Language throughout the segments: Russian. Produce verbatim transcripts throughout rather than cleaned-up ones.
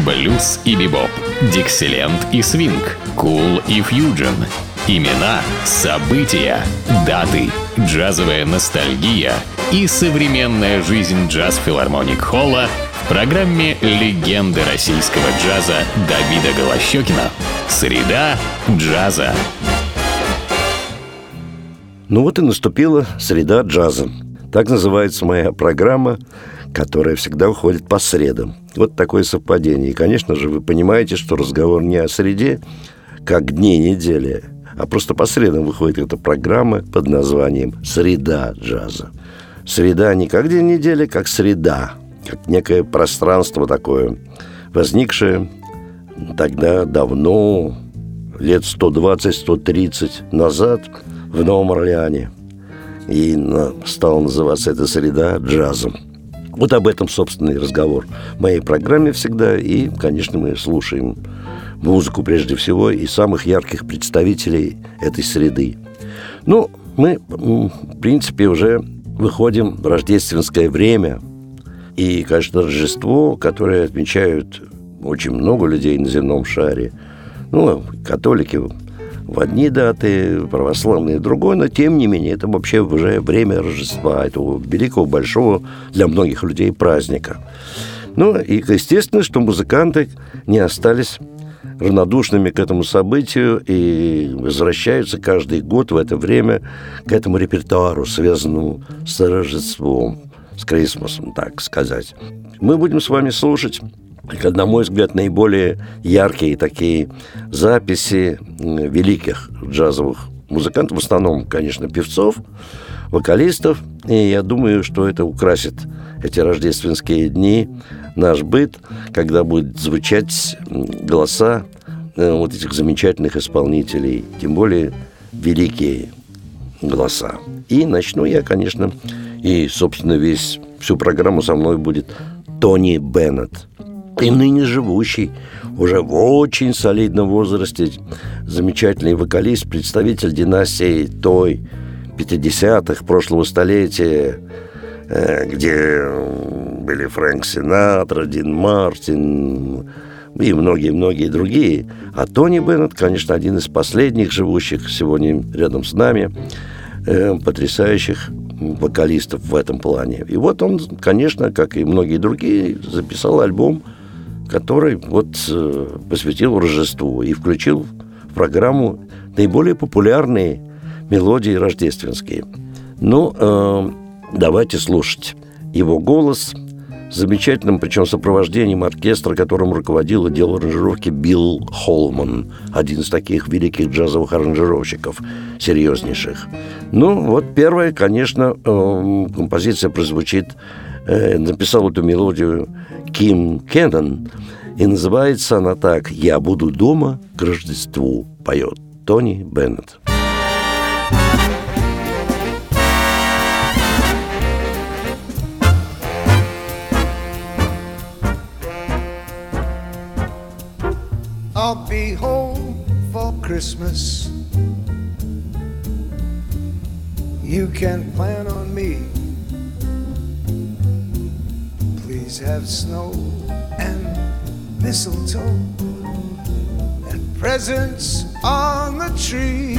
Блюз и бибоп, диксиленд и свинг, кул и фьюджен. Имена, события, даты, джазовая ностальгия и современная жизнь джаз-филармоник Холла в программе «Легенды российского джаза» Давида Голощёкина. Среда джаза. Ну вот и наступила среда джаза. Так называется моя программа, которая всегда уходит по средам. Вот такое совпадение. И, конечно же, вы понимаете, что разговор не о среде, как дне недели, а просто по средам выходит эта программа под названием «Среда джаза». Среда не как день недели, как среда, как некое пространство такое, возникшее тогда давно, лет сто двадцать - сто тридцать назад в Новом Орлеане. И стала называться эта среда джазом. Вот об этом, собственно, и разговор в моей программе всегда. И, конечно, мы слушаем музыку прежде всего и самых ярких представителей этой среды. Ну, мы, в принципе, уже выходим в рождественское время. И, конечно, Рождество, которое отмечают очень много людей на земном шаре. Ну, католики в одни даты, православные в другой, но, тем не менее, это вообще уже время Рождества, этого великого, большого для многих людей праздника. Ну, и, естественно, что музыканты не остались равнодушными к этому событию и возвращаются каждый год в это время к этому репертуару, связанному с Рождеством, с Крисмасом, так сказать. Мы будем с вами слушать, на мой взгляд, наиболее яркие такие записи великих джазовых музыкантов, в основном, конечно, певцов, вокалистов. И я думаю, что это украсит эти рождественские дни, наш быт, когда будут звучать голоса вот этих замечательных исполнителей, тем более великие голоса. И начну я, конечно, и, собственно, весь, всю программу со мной будет Тони Беннет. И ныне живущий, уже в очень солидном возрасте, замечательный вокалист, представитель династии той пятидесятых прошлого столетия, где были Фрэнк Синатра, Дин Мартин и многие-многие другие. А Тони Беннет, конечно, один из последних живущих сегодня рядом с нами, потрясающих вокалистов в этом плане. И вот он, конечно, как и многие другие, записал альбом, который вот посвятил Рождеству и включил в программу наиболее популярные мелодии рождественские. Ну, э, давайте слушать его голос с замечательным, причем сопровождением оркестра, которым руководил и делал аранжировки Билл Холман, один из таких великих джазовых аранжировщиков, серьезнейших. Ну, вот первая, конечно, э, композиция прозвучит, э, написал эту мелодию Ким Кеннон, и называется она так: «Я буду дома к Рождеству», поет Тони Беннет. I'll be home for Christmas. You can plan on me. Please have snow and mistletoe and presents on the tree.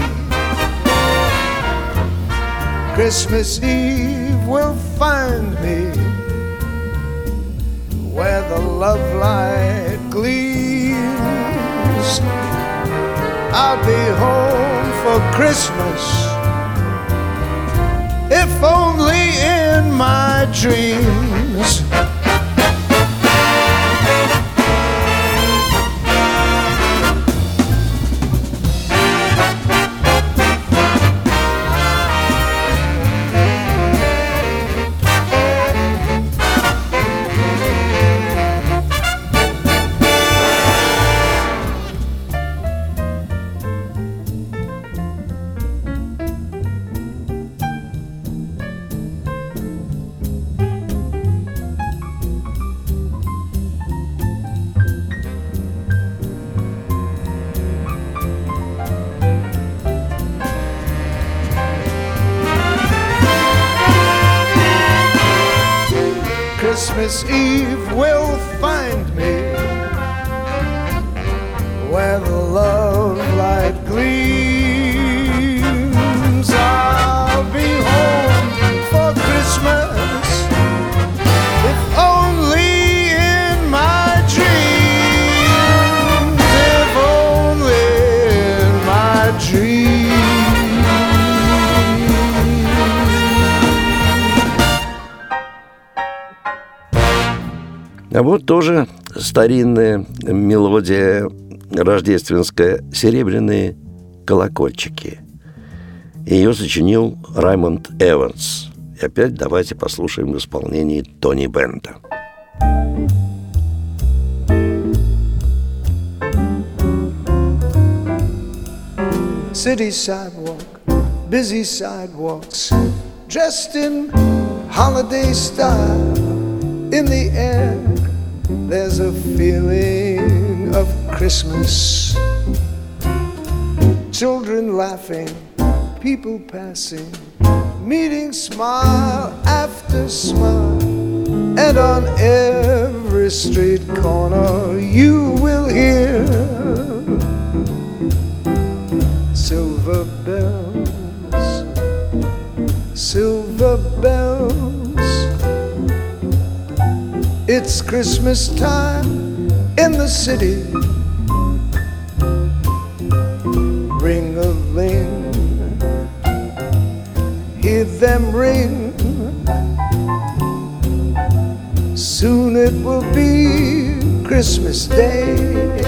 Christmas Eve will find me where the love light gleams. I'll be home for Christmas, if only in my dreams. Christmas Eve will find me where the love light gleams. I'll be home for Christmas, if only in my dreams, if only in my dreams. А вот тоже старинная мелодия рождественская «Серебряные колокольчики». Ее сочинил Раймонд Эванс. И опять давайте послушаем в исполнении Тони Беннета. City sidewalk, busy sidewalks, dressed in holiday style. In the air, there's a feeling of Christmas. Children laughing, people passing, meeting smile after smile. And on every street corner you will hear silver bells, silver bells. It's Christmas time in the city. Ring-a-ling, hear them ring. Soon it will be Christmas Day.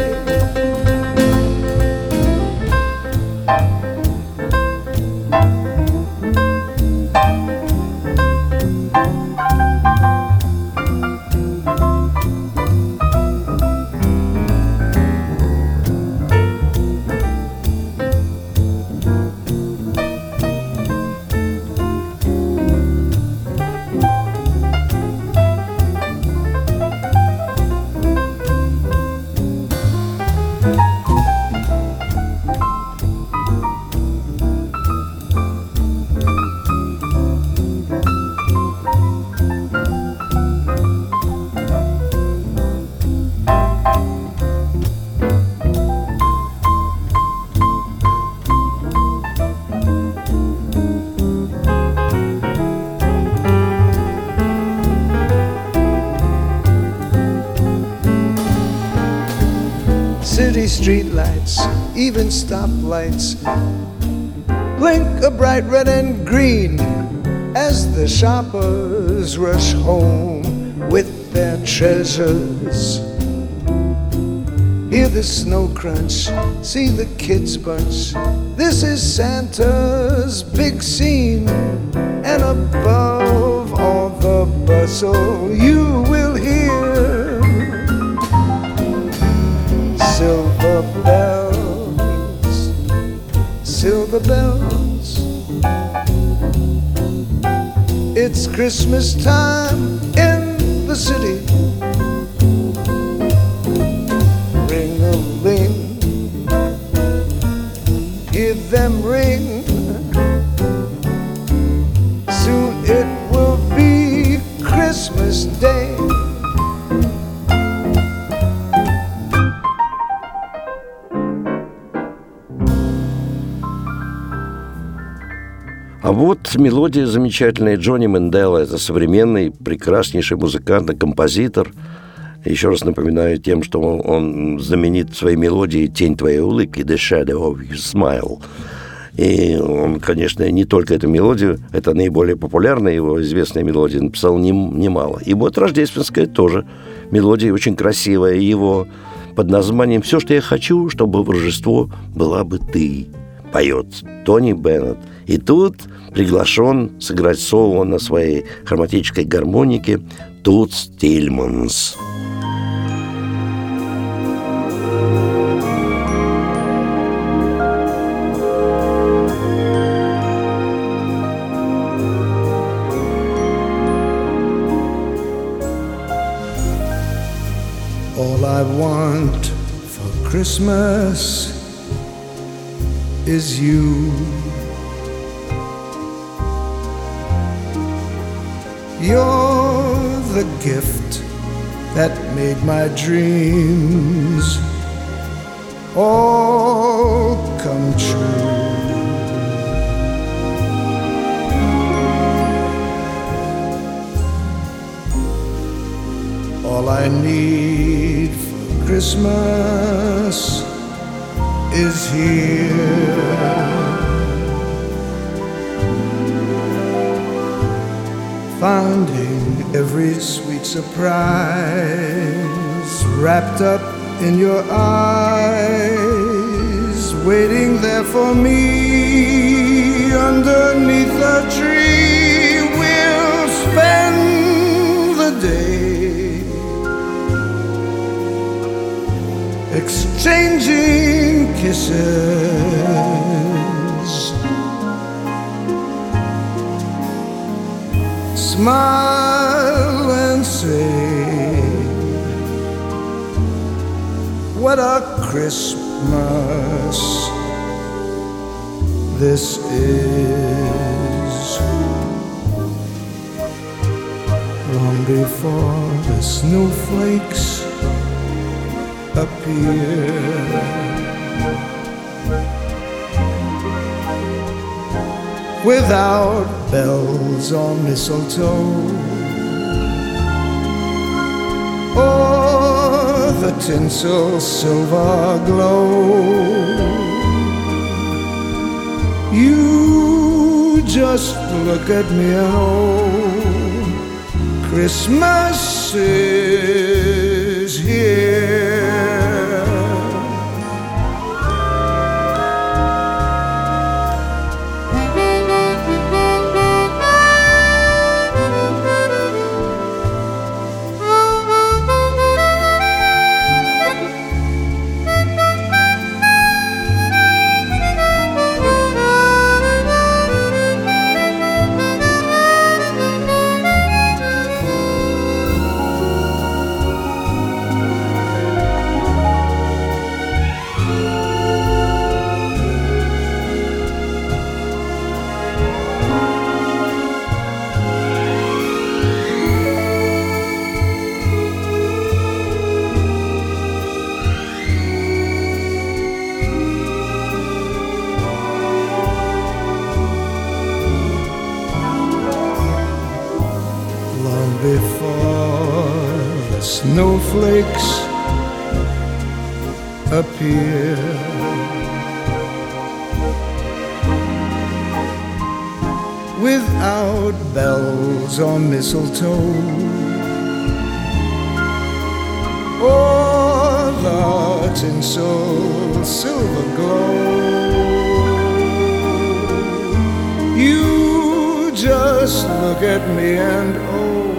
City streetlights, even stoplights, blink a bright red and green as the shoppers rush home with their treasures. Hear the snow crunch, see the kids bunch. This is Santa's big scene, and above all the bustle you will hear silver bells, silver bells. It's Christmas time in the city. Ring-a-ling, hear them ring. Soon it will be Christmas Day. А вот мелодия замечательная Джонни Менделла. Это современный, прекраснейший музыкант и композитор. Еще раз напоминаю тем, что он, он знаменит своей мелодией «Тень твоей улыбки» «The Shadow of Your Smile». И он, конечно, не только эту мелодию, это наиболее популярная его известная мелодия, написал нем, немало. И вот рождественская тоже мелодия, очень красивая его, под названием «Все, что я хочу, чтобы в Рождество была бы ты», поет Тони Беннет. И тут приглашен сыграть соло на своей хроматической гармонике Тутс Тильманс. All I want for Christmas is you. You're the gift that made my dreams all come true. All I need for Christmas is here. Finding every sweet surprise wrapped up in your eyes, waiting there for me underneath the tree. We'll spend the day exchanging kisses, smile and say, what a Christmas this is. Long before the snowflakes appear, without bells or mistletoe, or the tinsel silver glow, you just look at me and oh, Christmas is here. Snowflakes appear, without bells or mistletoe, or the tinsel silver glow, you just look at me and oh,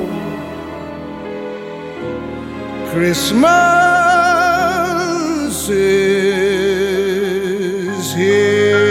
Christmas is here.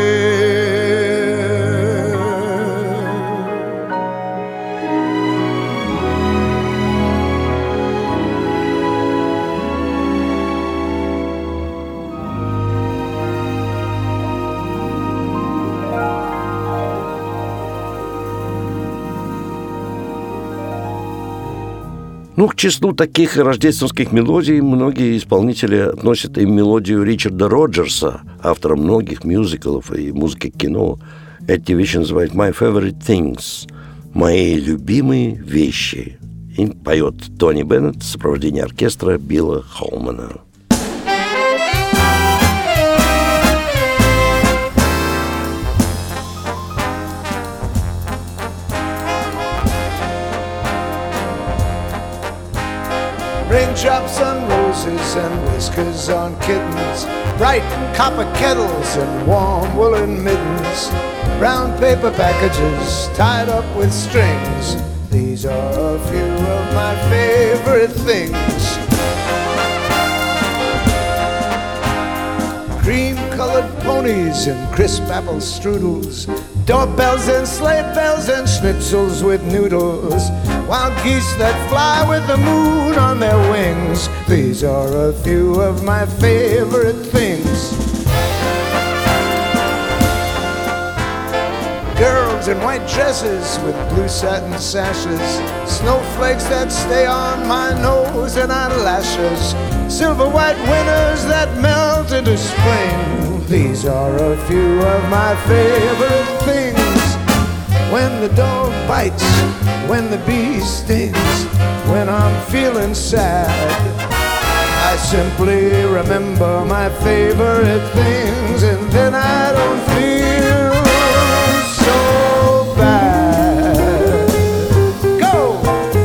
Ну, к числу таких рождественских мелодий многие исполнители относят и мелодию Ричарда Роджерса, автора многих мюзиклов и музыки к кино. Эти вещи называют «My Favorite Things», «Мои любимые вещи». И поет Тони Беннет в сопровождении оркестра Билла Холмана. Raindrops on roses and whiskers on kittens, bright copper kettles and warm woolen mittens, brown paper packages tied up with strings. These are a few of my favorite things. Cream-colored ponies and crisp apple strudels, doorbells and sleigh bells and schnitzels with noodles, wild geese that fly with the moon on their wings. These are a few of my favorite things. Girls Girls in white dresses with blue satin sashes, snowflakes that stay on my nose and eyelashes, silver white winters that melt into spring. These are a few of my favorite things. When the dog bites, when the bee stings, when I'm feeling sad, I simply remember my favorite things, and then I don't feel so bad. Go!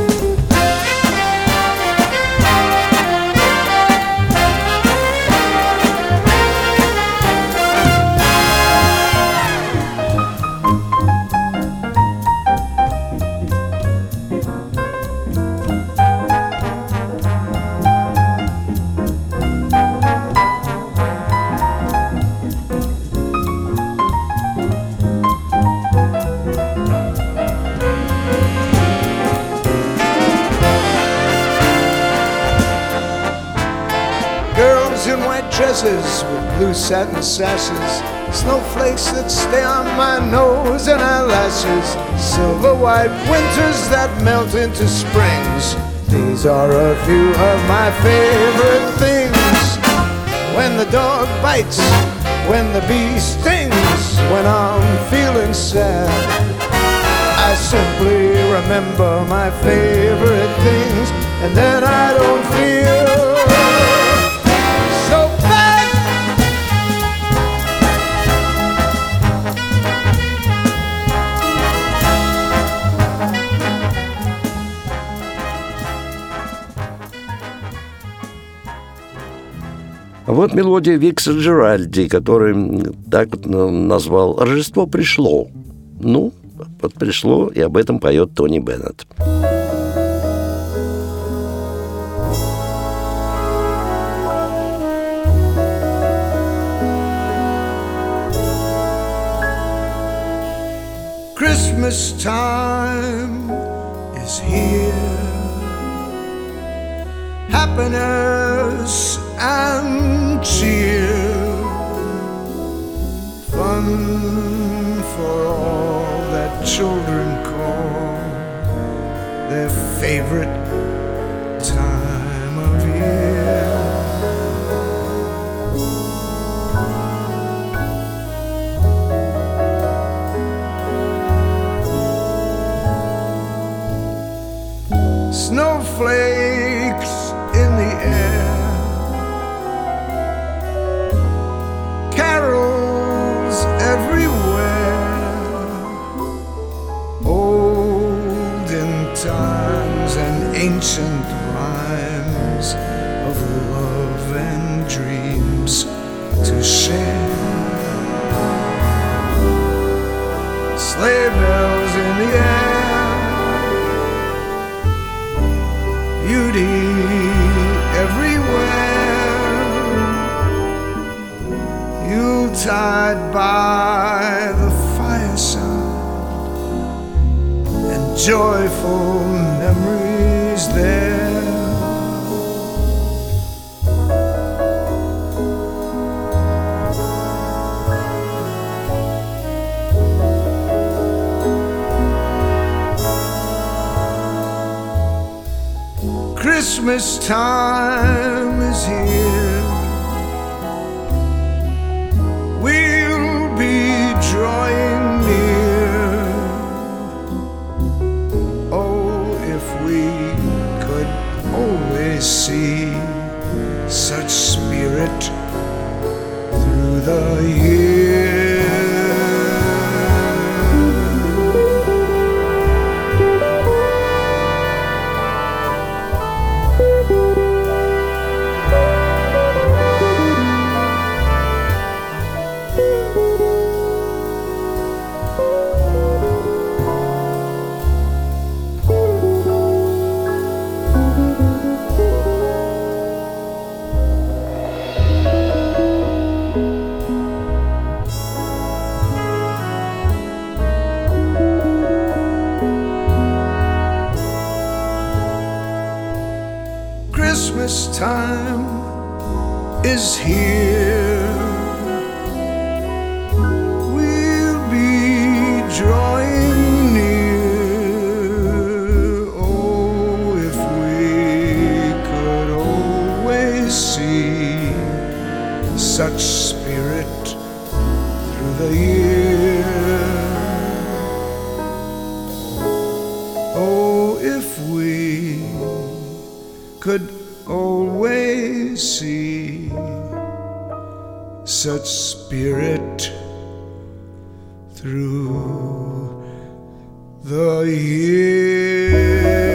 In white dresses with blue satin sashes, snowflakes that stay on my nose and eyelashes, silver white winters that melt into springs. These are a few of my favorite things. When the dog bites, when the bee stings, when I'm feeling sad, I simply remember my favorite things, and then I don't feel А вот мелодия Викса Джеральди, который так вот назвал «Рождество пришло». Ну, вот пришло, и об этом поет Тони Беннет. Christmas time is here. Happiness and cheer, fun for all that children call their favorite time of year. Snowflakes in the air, carols everywhere, olden times and ancient rhymes of love and dreams to share. Sleigh bells in the air, beauty everywhere, Yuletide by the fireside, and joyful memories there. Christmas time is here. We'll be drawing near. Oh, if we could always see such spirit through the year. Christmas time is here. We'll be drawing such spirit through the year. Oh, if we could always see such spirit through the year.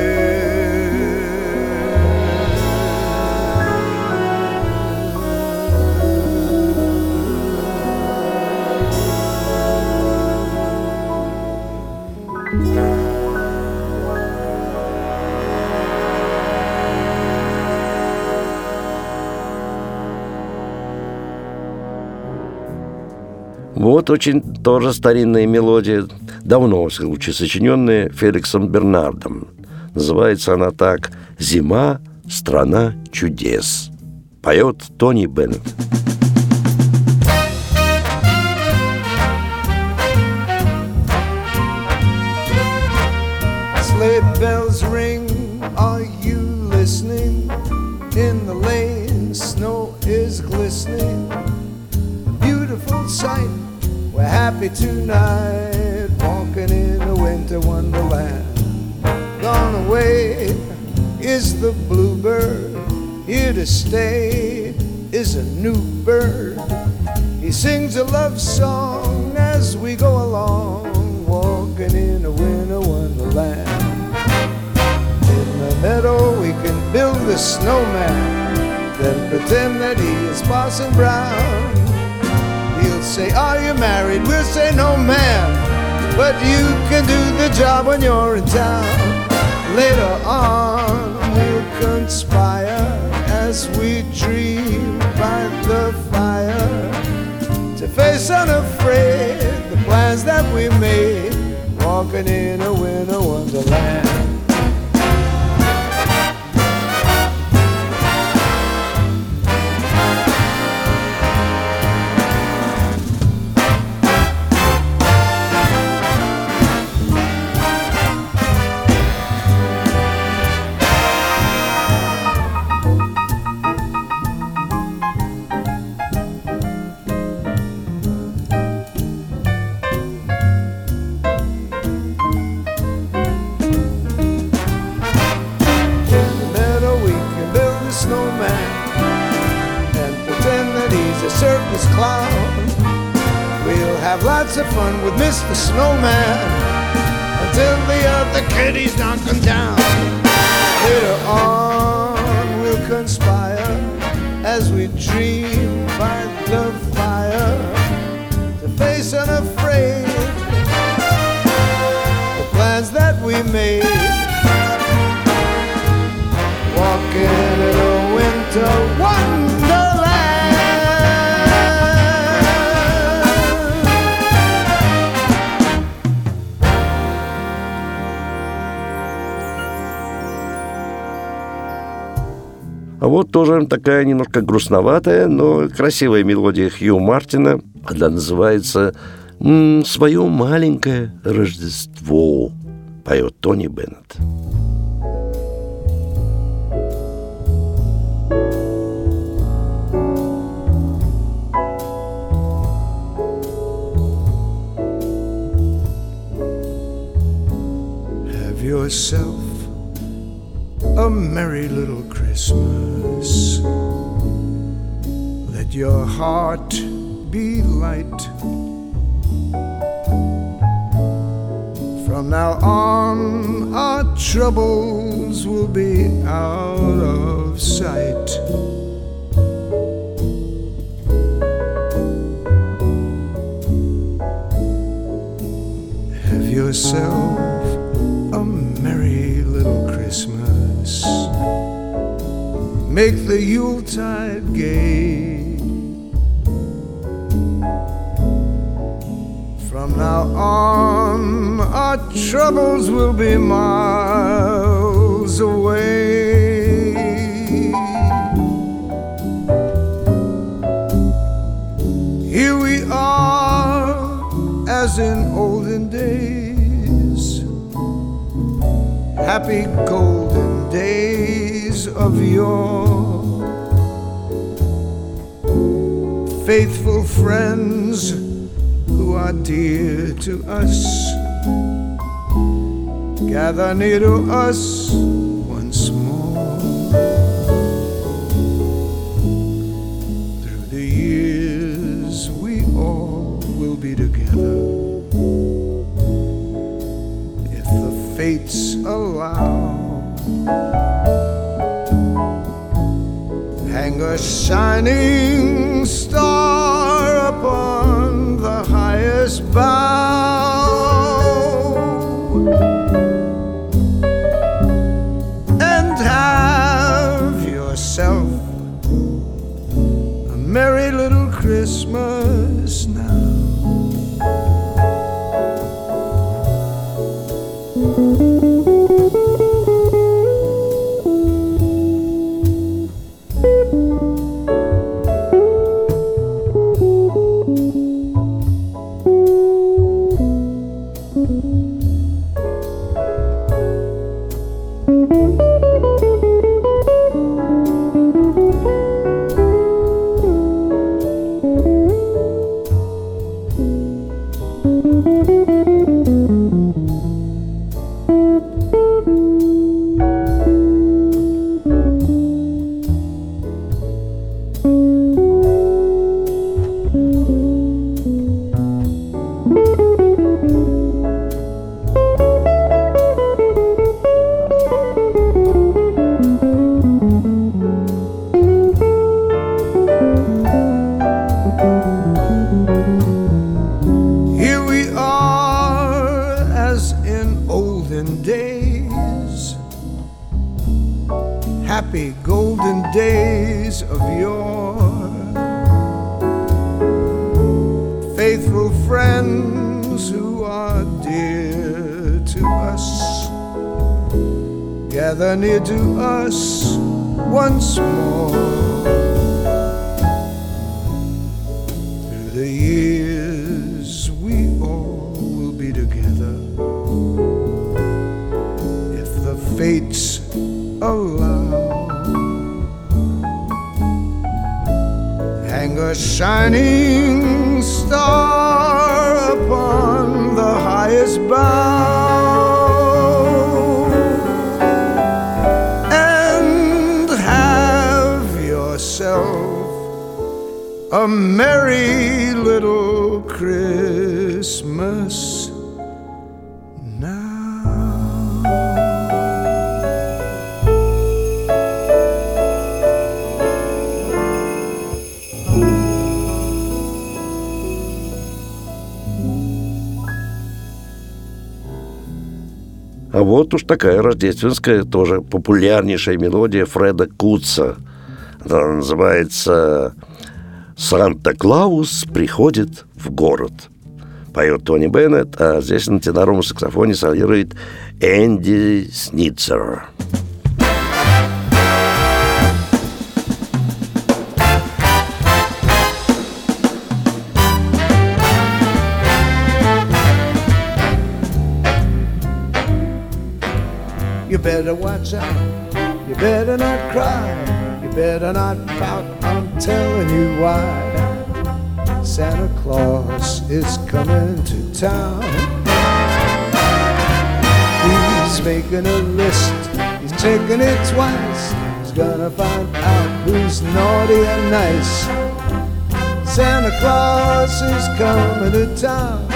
Вот очень тоже старинная мелодия, давно, в всяком случае, сочиненная Феликсом Бернардом. Называется она так: «Зима, страна чудес». Поет Тони Беннет. Sleigh bells ring, are you listening? In the lane, snow is glistening. Beautiful sight, we're happy tonight, walking in a winter wonderland. Gone away is the bluebird, here to stay is a new bird. He sings a love song as we go along, walking in a winter wonderland. In the meadow we can build a snowman, then pretend that he is Parson Brown. He'll say, are you married? We'll say, no ma'am, but you can do the job when you're in town. Later on we'll conspire as we dream by the fire, to face unafraid the plans that we made, walking in a winter wonderland. Circus clown. We'll have lots of fun with Mister Snowman until the other kiddies knock him down. Later on we'll conspire as we dream by the fire, to face unafraid the plans that we made, walking in a winter wonderland. А вот тоже такая немножко грустноватая, но красивая мелодия Хью Мартина. Она называется м-м, «Свое маленькое Рождество». Поет Тони Беннет. Have yourself a merry little Christmas. Let your heart be light. From now on, our troubles will be out of sight. Have yourself a merry little Christmas. Make the Yuletide gay. From now on, our troubles will be miles away. Here we are, as in olden days, happy golden days of yore. faithful friends who are dear to us, gather near to us once more. Through the years we all will be together, if the fates allow. Hang a shining star upon the highest bough, and have yourself a merry little Christmas now. Happy golden days of yore, faithful friends who are dear to us, gather near to us once more. Through the years we all will be together, if the fates allow. Hang a shining star upon the highest bough, and have yourself a merry little Christmas now. А вот уж такая рождественская, тоже популярнейшая мелодия Фреда Кутса. Она называется «Санта-Клаус приходит в город». Поет Тони Беннет, а здесь на теноровом саксофоне солирует Энди Сницер. You better watch out, you better not cry, you better not pout, I'm telling you why. Santa Claus is coming to town. He's making a list, he's checking it twice. He's gonna find out who's naughty and nice. Santa Claus is coming to town.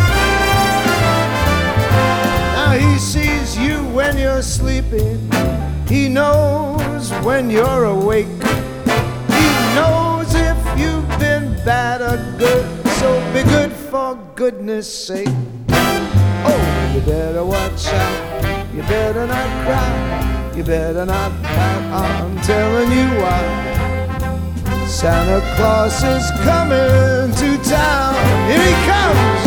Now he sees you when you're sleeping, he knows when you're awake, he knows if you've been bad or good, so be good for goodness sake. Oh, you better watch out, you better not cry, you better not pout, I'm telling you why. Santa Claus is coming to town, here he comes.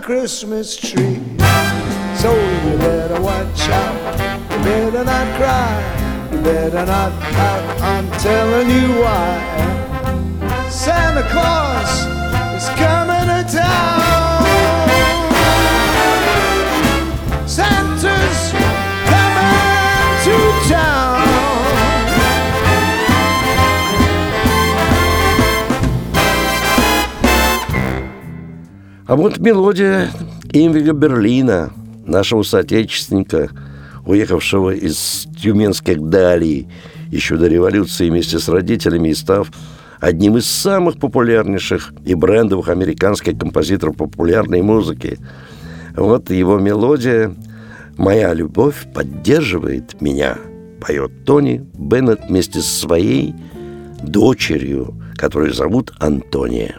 Christmas tree. So you better watch out, you better not cry, you better not pout, I'm telling you why. Santa Claus is coming to town. Santa's coming to town. А вот мелодия Имвига Берлина, нашего соотечественника, уехавшего из тюменских далей еще до революции вместе с родителями и став одним из самых популярнейших и брендовых американских композиторов популярной музыки. Вот его мелодия «Моя любовь поддерживает меня», поет Тони Беннет вместе со своей дочерью, которую зовут Антония.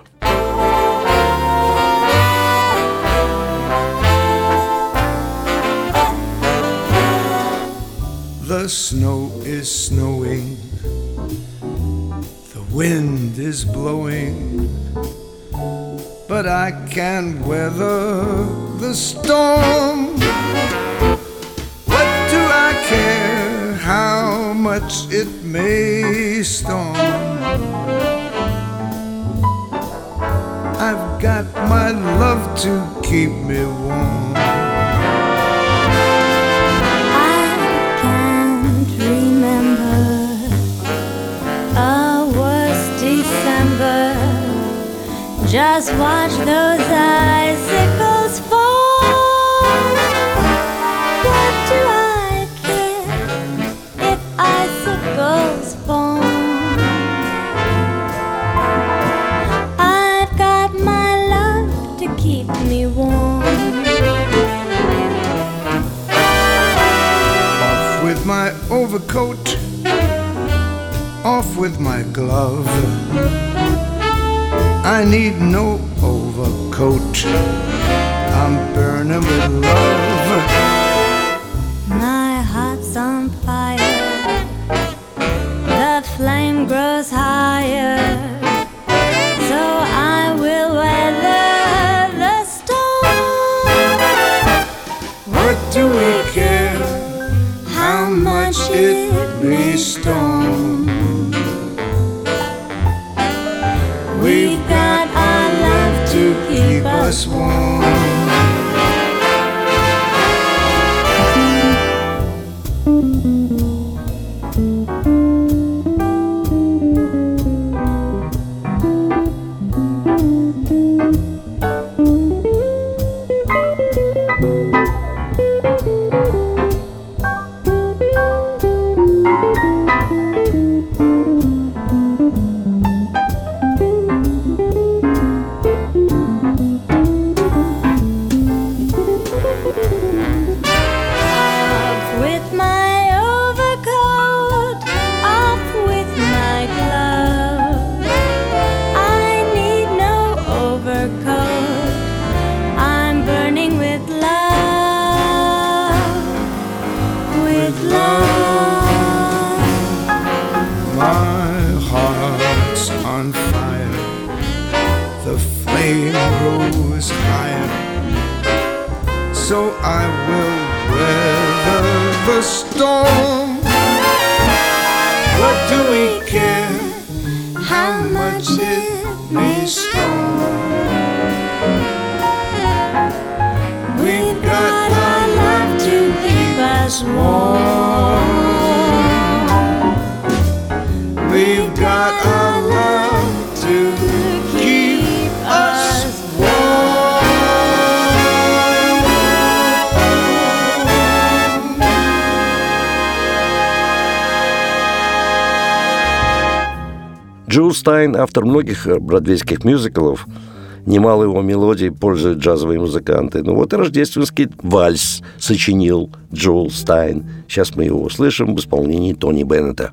The snow is snowing, the wind is blowing, but I can weather the storm. What do I care how much it may storm? I've got my love to keep me warm. Just watch those icicles fall. What do I care if icicles fall? I've got my love to keep me warm. Off with my overcoat, off with my glove. I need no overcoat, I'm burning with love. My heart's on fire, the flame grows higher, so I will weather the storm. What do we care how much it may storm? We've got our love to keep us warm. Grows higher, so I will weather the storm. What do we care how much it may storm? We've got our love to keep us warm. We've got our love to keep us Джул Стайн, автор многих бродвейских мюзиклов, немало его мелодий пользуют джазовые музыканты. Ну вот и рождественский вальс сочинил Джул Стайн. Сейчас мы его услышим в исполнении Тони Беннета.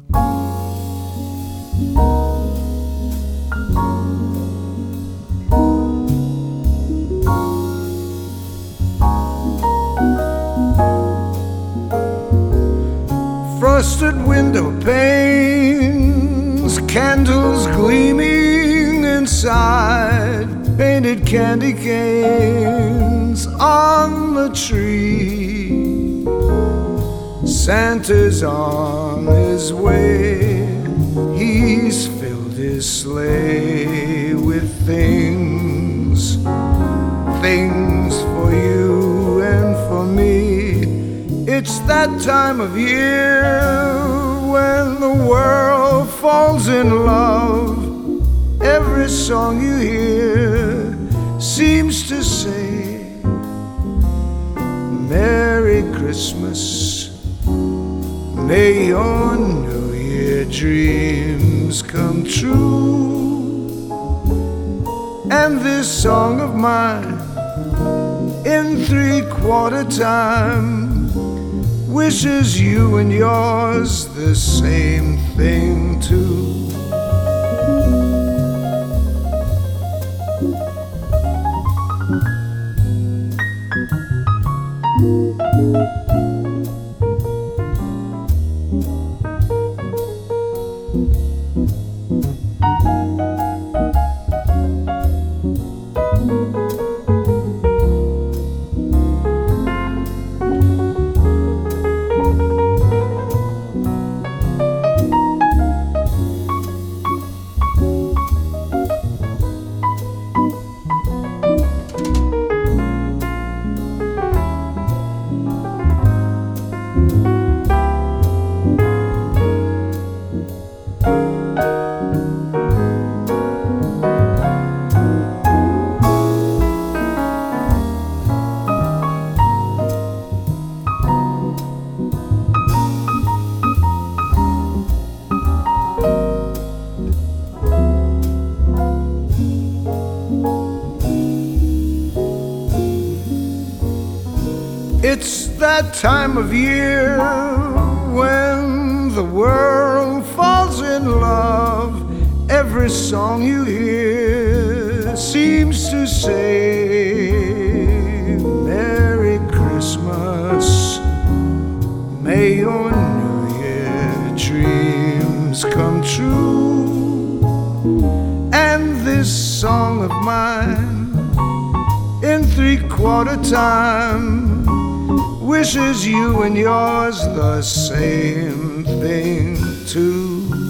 Frosted window panes, candles gleaming inside. painted candy canes on the tree. Santa's on his way. He's filled his sleigh with things, things for you and for me. It's that time of year when the world falls in love. Every song you hear seems to say, Merry Christmas, may your New Year dreams come true. And this song of mine, in three-quarter time, wishes you and yours the same thing too. It's that time of year when the world falls in love. Every song you hear seems to say, Merry Christmas, may your New Year dreams come true. And this song of mine, in three-quarter time, wishes you and yours the same thing too.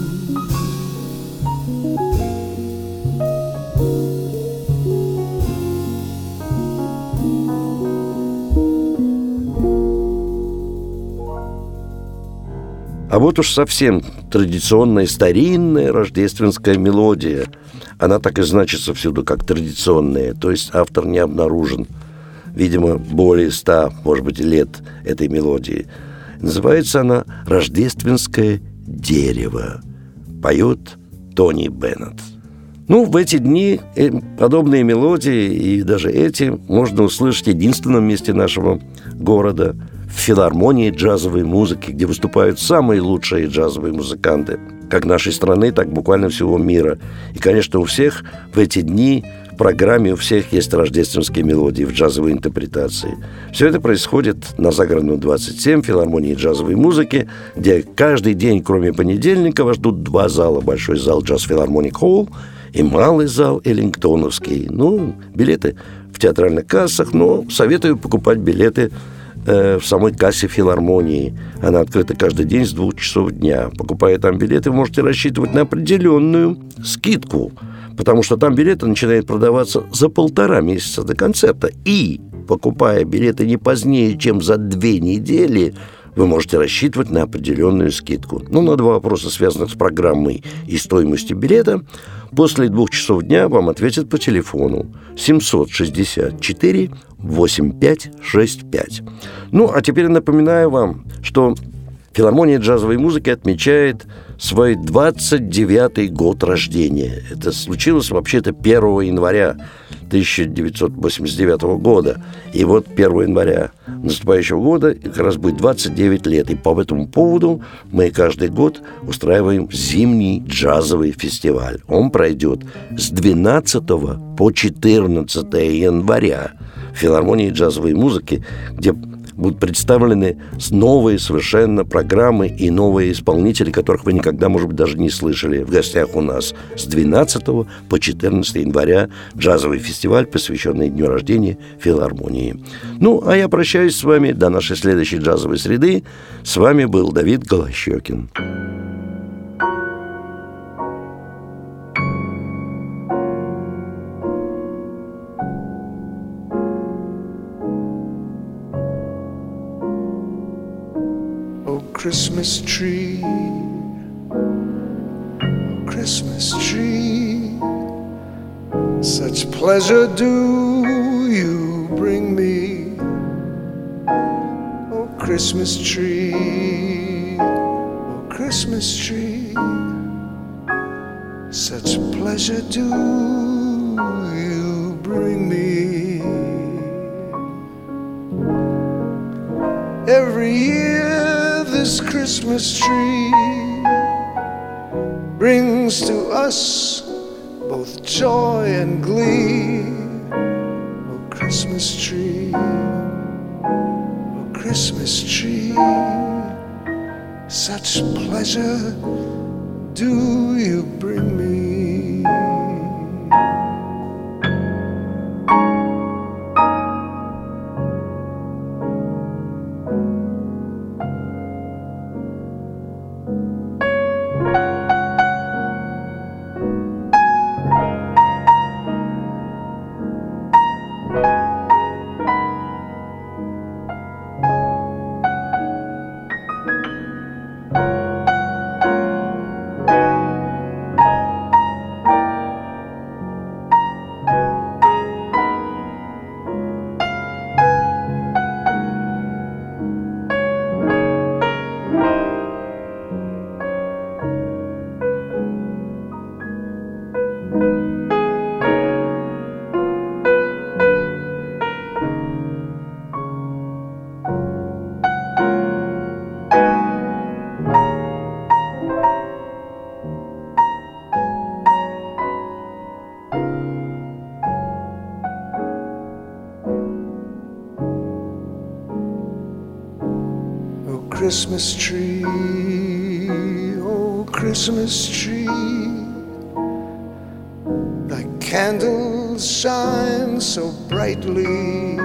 А вот уж совсем традиционная, старинная рождественская мелодия. Она так и значится всюду, как традиционная, то есть автор не обнаружен. Видимо, более ста, может быть, лет этой мелодии. Называется она «Рождественское дерево». Поет Тони Беннет. Ну, в эти дни подобные мелодии, и даже эти, можно услышать в единственном месте нашего города, в филармонии джазовой музыки, где выступают самые лучшие джазовые музыканты, как нашей страны, так буквально всего мира. И, конечно, у всех в эти дни в программе у всех есть рождественские мелодии в джазовой интерпретации. Все это происходит на Загородном двадцать семь, в филармонии джазовой музыки, где каждый день, кроме понедельника, вас ждут два зала. Большой зал Jazz Philharmonic Hall и малый зал Эллингтоновский. Ну, билеты в театральных кассах, но советую покупать билеты э, в самой кассе филармонии. Она открыта каждый день с двух часов дня. Покупая там билеты, вы можете рассчитывать на определенную скидку, потому что там билеты начинают продаваться за полтора месяца до концерта. И, покупая билеты не позднее, чем за две недели, вы можете рассчитывать на определенную скидку. Ну, на два вопроса, связанных с программой и стоимостью билета, после двух часов дня вам ответят по телефону семьсот шестьдесят четыре восемьдесят пять шестьдесят пять. Ну, а теперь напоминаю вам, что филармония джазовой музыки отмечает свой двадцать девятый год рождения. Это случилось вообще-то первого января тысяча девятьсот восемьдесят девятого года. И вот первого января наступающего года как раз будет двадцать девять лет. И по этому поводу мы каждый год устраиваем зимний джазовый фестиваль. Он пройдет с двенадцатого по четырнадцатое января в филармонии джазовой музыки, где будут представлены новые совершенно программы и новые исполнители, которых вы никогда, может быть, даже не слышали. В гостях у нас с двенадцатого по четырнадцатое января джазовый фестиваль, посвященный дню рождения филармонии. Ну, а я прощаюсь с вами до нашей следующей джазовой среды. С вами был Давид Голощёкин. Christmas tree, oh, Christmas tree, such pleasure do you bring me. Oh, Christmas tree, oh, Christmas tree, such pleasure do you bring me. Every year this Christmas tree brings to us both joy and glee. Oh, Christmas tree, oh, Christmas tree, such pleasure do you bring me. Christmas tree, oh Christmas tree, thy candles shine so brightly.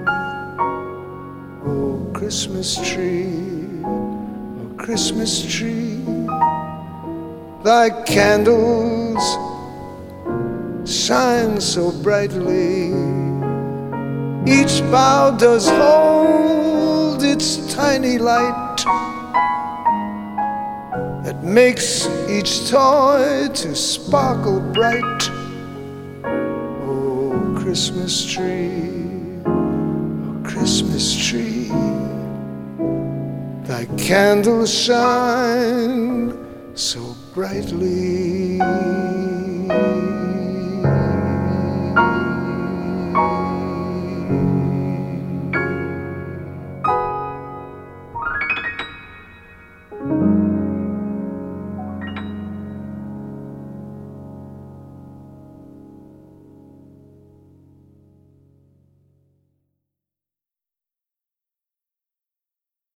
Oh Christmas tree, oh Christmas tree, thy candles shine so brightly. Each bough does hold its tiny light that makes each toy to sparkle bright. Oh, Christmas tree, oh, Christmas tree, thy candles shine so brightly.